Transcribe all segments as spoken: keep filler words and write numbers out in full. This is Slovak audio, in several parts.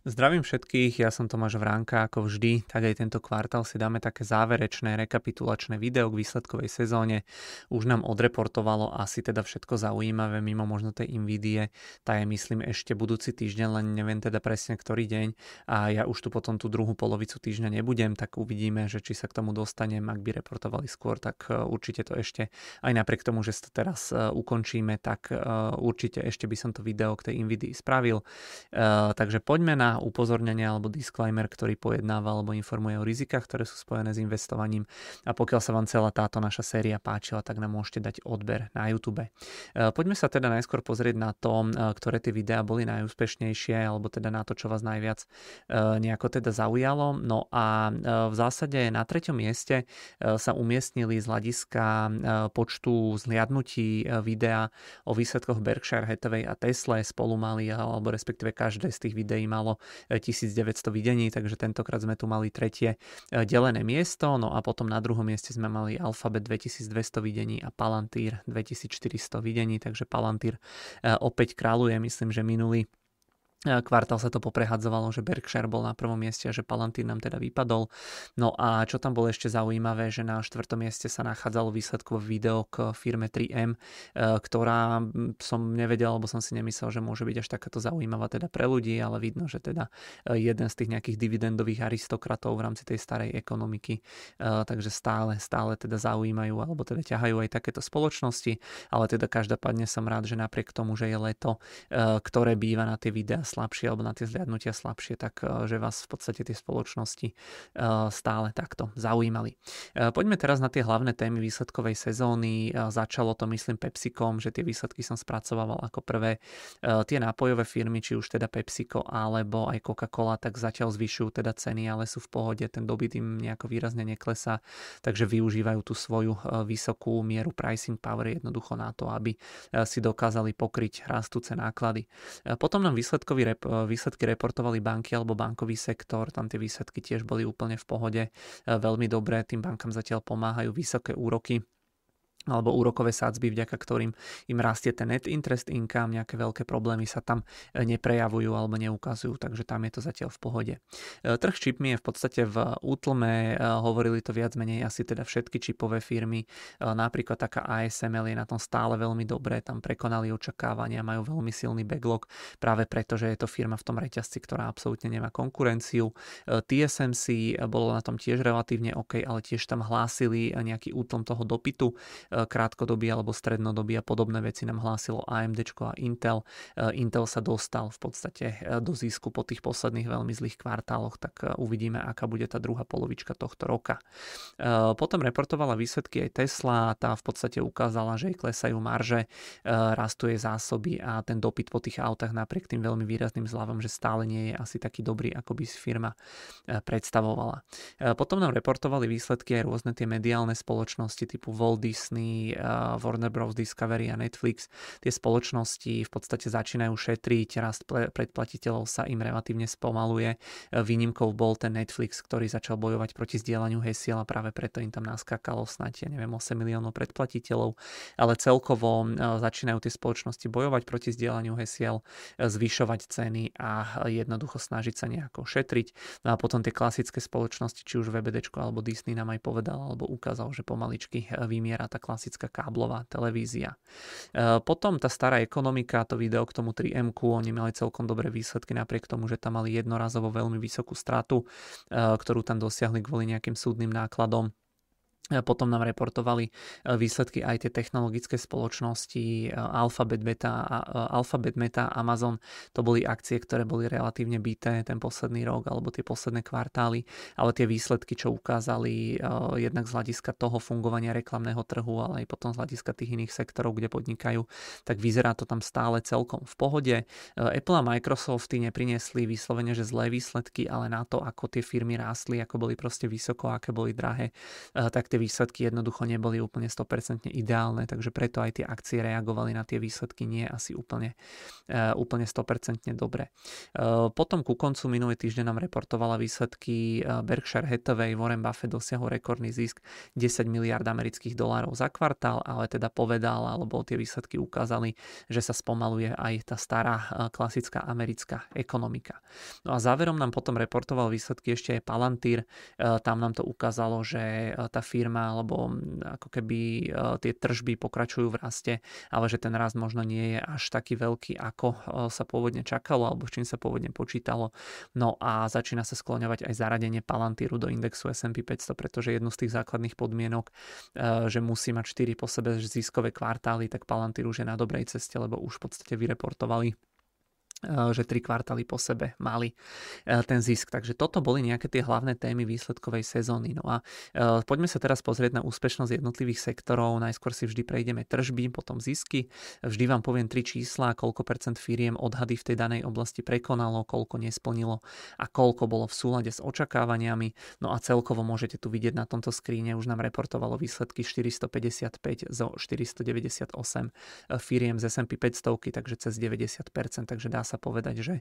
Zdravím všetkých, ja som Tomáš Vránka, ako vždy, tak aj tento kvartál si dáme také záverečné rekapitulačné video k výsledkovej sezóne. Už nám odreportovalo asi teda všetko zaujímavé, mimo možno tej Nvidie, tá je myslím ešte budúci týždeň, len neviem teda presne ktorý deň a ja už tu potom tú druhú polovicu týždňa nebudem, tak uvidíme, že či sa k tomu dostanem, ak by reportovali skôr, tak určite to ešte, aj napriek tomu, že to teraz ukončíme, tak určite ešte by som to video k tej Nvidii spravil. Takže poďme na upozornenia alebo disclaimer, ktorý pojednáva alebo informuje o rizikách, ktoré sú spojené s investovaním. A pokiaľ sa vám celá táto naša séria páčila, tak nám môžete dať odber na YouTube. Poďme sa teda najskôr pozrieť na to, ktoré tie videá boli najúspešnejšie, alebo teda na to, čo vás najviac nejako teda zaujalo. No a v zásade na treťom mieste sa umiestnili z hľadiska počtu zhliadnutí videa o výsledkoch Berkshire Hathaway a Tesla. Spolu mali, alebo respektíve každé z tých videí malo tisícdeväťsto videní, takže tentokrát sme tu mali tretie delené miesto, no a potom na druhom mieste sme mali Alphabet dvetisícdvesto videní a Palantir dvetisícštyristo videní, takže Palantir opäť kráľuje, myslím, že minulý kvartál sa to poprehadzovalo, že Berkshire bol na prvom mieste a že Palantir nám teda vypadol. No a čo tam bolo ešte zaujímavé, že na štvrtom mieste sa nachádzalo výsledkové video k firme tri em, ktorá som nevedel, alebo som si nemyslel, že môže byť až takáto zaujímavá teda pre ľudí, ale vidno, že teda jeden z tých nejakých dividendových aristokratov v rámci tej starej ekonomiky, takže stále, stále teda zaujímajú, alebo teda ťahajú aj takéto spoločnosti, ale teda každopádne som rád, že napriek tomu, že je leto, ktoré býva na tie videá slabšie alebo na tie zliadnutia slabšie, tak že vás v podstate tie spoločnosti stále takto zaujímali. Poďme teraz na tie hlavné témy výsledkovej sezóny. Začalo to myslím PepsiCom, že tie výsledky som spracovával ako prvé. Tie nápojové firmy, či už teda PepsiCo alebo aj Coca-Cola, tak zatiaľ zvyšujú teda ceny, ale sú v pohode, ten dopyt im nejako výrazne neklesá, takže využívajú tú svoju vysokú mieru pricing power jednoducho na to, aby si dokázali pokryť rastúce náklady. Potom nám výsledkový Rep- výsledky reportovali banky alebo bankový sektor, tam tie výsledky tiež boli úplne v pohode, veľmi dobré, tým bankám zatiaľ pomáhajú vysoké úroky alebo úrokové sadzby, vďaka ktorým im rastie ten net interest income, nejaké veľké problémy sa tam neprejavujú alebo neukazujú, takže tam je to zatiaľ v pohode. Trh s čipmi je v podstate v útlme, hovorili to viac menej asi teda všetky čipové firmy, napríklad taká á es em el je na tom stále veľmi dobré, tam prekonali očakávania, majú veľmi silný backlog, práve preto, že je to firma v tom reťazci, ktorá absolútne nemá konkurenciu. té es em cé bolo na tom tiež relatívne OK, ale tiež tam hlásili nejaký útlm toho dopytu, krátkodobý alebo strednodobý a podobné veci nám hlásilo á em déčko a Intel. Intel sa dostal v podstate do zisku po tých posledných veľmi zlých kvartáloch, tak uvidíme, aká bude tá druhá polovička tohto roka. Potom reportovala výsledky aj Tesla, tá v podstate ukázala, že jej klesajú marže, rastú jej zásoby a ten dopyt po tých autách napriek tým veľmi výrazným zľavom, že stále nie je asi taký dobrý, ako by si firma predstavovala. Potom nám reportovali výsledky aj rôzne tie mediálne spoločnosti typu Walt Disney, Warner Bros. Discovery a Netflix. Tie spoločnosti v podstate začínajú šetriť, rast predplatiteľov sa im relatívne spomaluje. Výnimkou bol ten Netflix, ktorý začal bojovať proti zdieľaniu hesiel a práve preto im tam naskákalo snáď, ja neviem, osem miliónov predplatiteľov, ale celkovo začínajú tie spoločnosti bojovať proti zdieľaniu hesiel, zvyšovať ceny a jednoducho snažiť sa nejako šetriť. No a potom tie klasické spoločnosti, či už vé bé déčko alebo Disney nám aj povedal alebo ukázal, že pomaličky vymiera tá klasická káblová televízia. Potom tá stará ekonomika, to video k tomu tri emku, oni mali celkom dobré výsledky napriek tomu, že tam mali jednorazovo veľmi vysokú stratu, ktorú tam dosiahli kvôli nejakým súdnym nákladom. Potom nám reportovali výsledky aj tie technologické spoločnosti Alphabet, Beta, Alphabet, Meta, Amazon. To boli akcie, ktoré boli relatívne bité ten posledný rok alebo tie posledné kvartály, ale tie výsledky, čo ukázali jednak z hľadiska toho fungovania reklamného trhu, ale aj potom z hľadiska tých iných sektorov, kde podnikajú, tak vyzerá to tam stále celkom v pohode. Apple a Microsofty nepriniesli vyslovene, že zlé výsledky, ale na to, ako tie firmy rástli, ako boli proste vysoko, aké boli drahé, tak tie výsledky jednoducho neboli úplne sto percent ideálne, takže preto aj tie akcie reagovali na tie výsledky nie asi úplne, úplne sto percent dobre. Potom ku koncu minulý týždeň nám reportovala výsledky Berkshire Hathaway. Warren Buffett dosiahol rekordný zisk desať miliárd amerických dolárov za kvartál, ale teda povedal, alebo tie výsledky ukázali, že sa spomaluje aj tá stará klasická americká ekonomika. No a záverom nám potom reportoval výsledky ešte aj Palantir. Tam nám to ukázalo, že tá firma, alebo ako keby tie tržby pokračujú v raste, ale že ten rast možno nie je až taký veľký, ako sa pôvodne čakalo, alebo s čím sa pôvodne počítalo. No a začína sa skloňovať aj zaradenie Palantiru do indexu es and pí päťsto, pretože jednu z tých základných podmienok, že musí mať štyri po sebe ziskové kvartály, tak Palantir už je na dobrej ceste, lebo už v podstate vyreportovali, že tri kvartály po sebe mali ten zisk. Takže toto boli nejaké tie hlavné témy výsledkovej sezóny. No a poďme sa teraz pozrieť na úspešnosť jednotlivých sektorov. Najskôr si vždy prejdeme tržby, potom zisky. Vždy vám poviem tri čísla, koľko percent firiem odhady v tej danej oblasti prekonalo, koľko nesplnilo a koľko bolo v súlade s očakávaniami. No a celkovo môžete tu vidieť na tomto skríne, už nám reportovalo výsledky štyristopäťdesiatpäť zo štyristodeväťdesiatosem firiem z es and pí päťsto, takže cez deväťdesiat percent, takže dá sa sa povedať, že,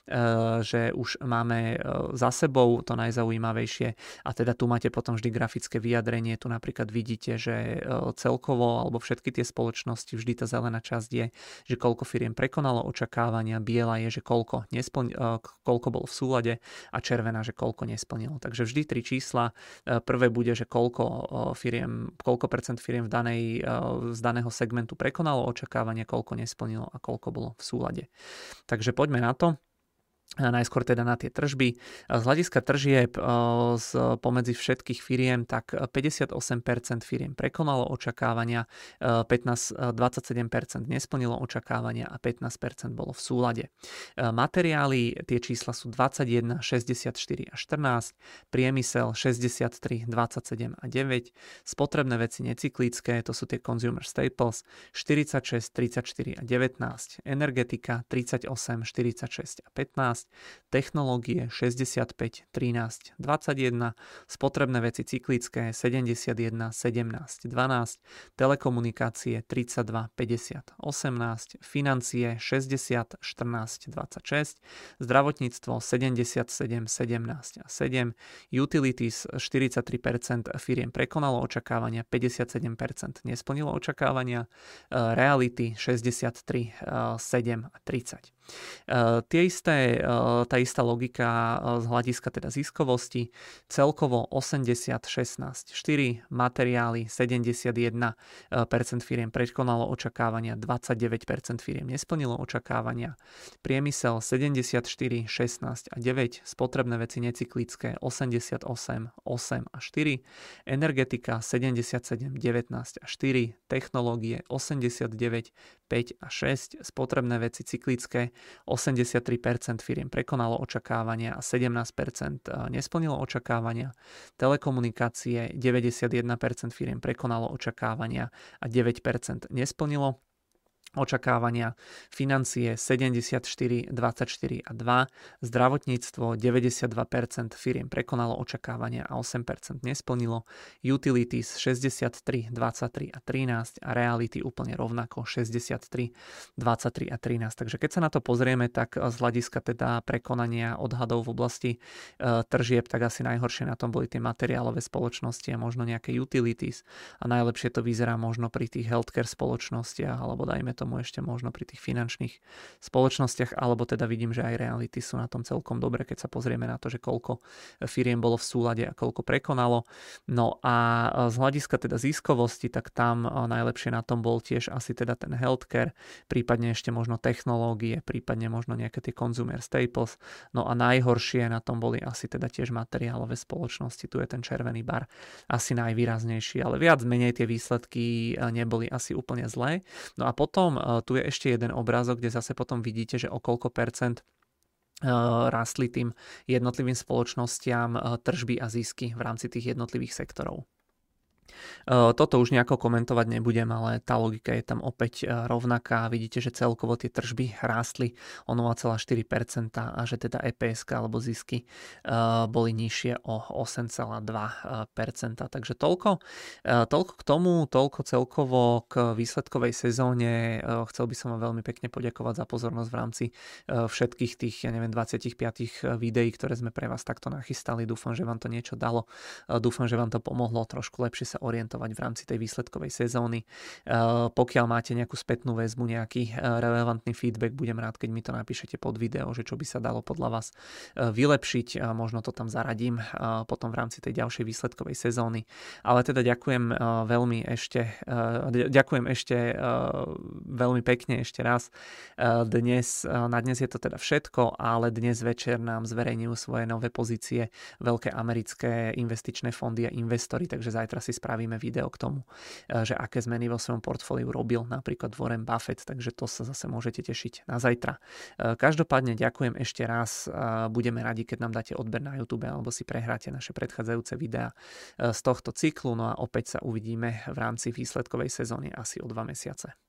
že už máme za sebou to najzaujímavejšie a teda tu máte potom vždy grafické vyjadrenie. Tu napríklad vidíte, že celkovo alebo všetky tie spoločnosti, vždy tá zelená časť je, že koľko firiem prekonalo očakávania, biela je, že koľko, nesplň, koľko bolo v súlade a červená, že koľko nesplnilo. Takže vždy tri čísla. Prvé bude, že koľko firiem, koľko percent firiem v danej, z daného segmentu prekonalo očakávania, koľko nesplnilo a koľko bolo v súlade. Takže poďme na to. Najskôr teda na tie tržby. Z hľadiska tržieb z pomedzi všetkých firiem, tak päťdesiatosem percent firiem prekonalo očakávania, pätnásť, dvadsaťsedem percent nesplnilo očakávania a pätnásť percent bolo v súlade. Materiály, tie čísla sú dvadsaťjeden, šesťdesiatštyri a štrnásť, priemysel šesťdesiattri, dvadsaťsedem a deväť, spotrebné veci necyklické, to sú tie consumer staples, štyridsaťšesť, tridsaťštyri a devätnásť, energetika tridsaťosem, štyridsaťšesť a pätnásť, technológie šesťdesiatpäť, trinásť, dvadsaťjeden, spotrebné veci cyklické sedemdesiatjeden, sedemnásť, dvanásť, telekomunikácie tridsaťdva, päťdesiat, osemnásť, financie šesťdesiat, štrnásť, dvadsaťšesť, zdravotníctvo sedemdesiatsedem, sedemnásť a sedem, utilities štyridsaťtri percent firiem prekonalo očakávania, päťdesiatsedem percent nesplnilo očakávania, reality šesťdesiattri, sedem a tridsať. Uh, tie isté, uh, tá istá logika uh, z hľadiska teda ziskovosti, celkovo osemdesiat, šestnásť, štyri, materiály sedemdesiatjeden percent firiem prekonalo očakávania, dvadsaťdeväť percent firiem nesplnilo očakávania, priemysel sedemdesiatštyri, šestnásť a deväť, spotrebné veci necyklické osemdesiatosem, osem a štyri, energetika sedemdesiatsedem, devätnásť a štyri, technológie osemdesiatdeväť, päť a šesť, spotrebné veci cyklické osemdesiattri percent firiem prekonalo očakávania a sedemnásť percent nesplnilo očakávania. Telekomunikácie deväťdesiatjeden percent firiem prekonalo očakávania a deväť percent nesplnilo očakávania, financie sedemdesiatštyri, dvadsaťštyri a dva, zdravotníctvo deväťdesiatdva percent firiem prekonalo očakávania a osem percent nesplnilo, utilities šesťdesiattri, dvadsaťtri a trinásť a reality úplne rovnako šesťdesiattri, dvadsaťtri a trinásť. Takže keď sa na to pozrieme, tak z hľadiska teda prekonania odhadov v oblasti e, tržieb, tak asi najhoršie na tom boli tie materiálové spoločnosti a možno nejaké utilities a najlepšie to vyzerá možno pri tých healthcare spoločnostiach alebo dajme tomu ešte možno pri tých finančných spoločnostiach, alebo teda vidím, že aj reality sú na tom celkom dobre, keď sa pozrieme na to, že koľko firiem bolo v súlade a koľko prekonalo. No a z hľadiska teda ziskovosti, tak tam najlepšie na tom bol tiež asi teda ten healthcare, prípadne ešte možno technológie, prípadne možno nejaké tie consumer staples. No a najhoršie na tom boli asi teda tiež materiálové spoločnosti. Tu je ten červený bar asi najvýraznejší, ale viac menej tie výsledky neboli asi úplne zlé. No a potom tu je ešte jeden obrázok, kde zase potom vidíte, že o koľko percent rastli tým jednotlivým spoločnostiam tržby a zisky v rámci tých jednotlivých sektorov. Toto už nejako komentovať nebudem, ale tá logika je tam opäť rovnaká. Vidíte, že celkovo tie tržby rástli o nula celá štyri percenta a že teda é pé es alebo zisky boli nižšie o osem celá dva percenta. Takže toľko, toľko k tomu, toľko celkovo k výsledkovej sezóne. Chcel by som vám veľmi pekne poďakovať za pozornosť v rámci všetkých tých, ja neviem, dvadsaťpäť videí, ktoré sme pre vás takto nachystali. Dúfam, že vám to niečo dalo. Dúfam, že vám to pomohlo trošku lepšie sa orientovať v rámci tej výsledkovej sezóny. Pokiaľ máte nejakú spätnú väzbu, nejaký relevantný feedback, budem rád, keď mi to napíšete pod video, že čo by sa dalo podľa vás vylepšiť. Možno to tam zaradím potom v rámci tej ďalšej výsledkovej sezóny. Ale teda ďakujem veľmi ešte, ďakujem ešte veľmi pekne ešte raz. Dnes, na dnes je to teda všetko, ale dnes večer nám zverejňujú svoje nové pozície veľké americké investičné fondy a investori, takže zajtra si spravíme video k tomu, že aké zmeny vo svojom portfóliu robil napríklad Warren Buffett, takže to sa zase môžete tešiť na zajtra. Každopádne ďakujem ešte raz, budeme radi, keď nám dáte odber na YouTube alebo si prehráte naše predchádzajúce videá z tohto cyklu, no a opäť sa uvidíme v rámci výsledkovej sezóny asi o dva mesiace.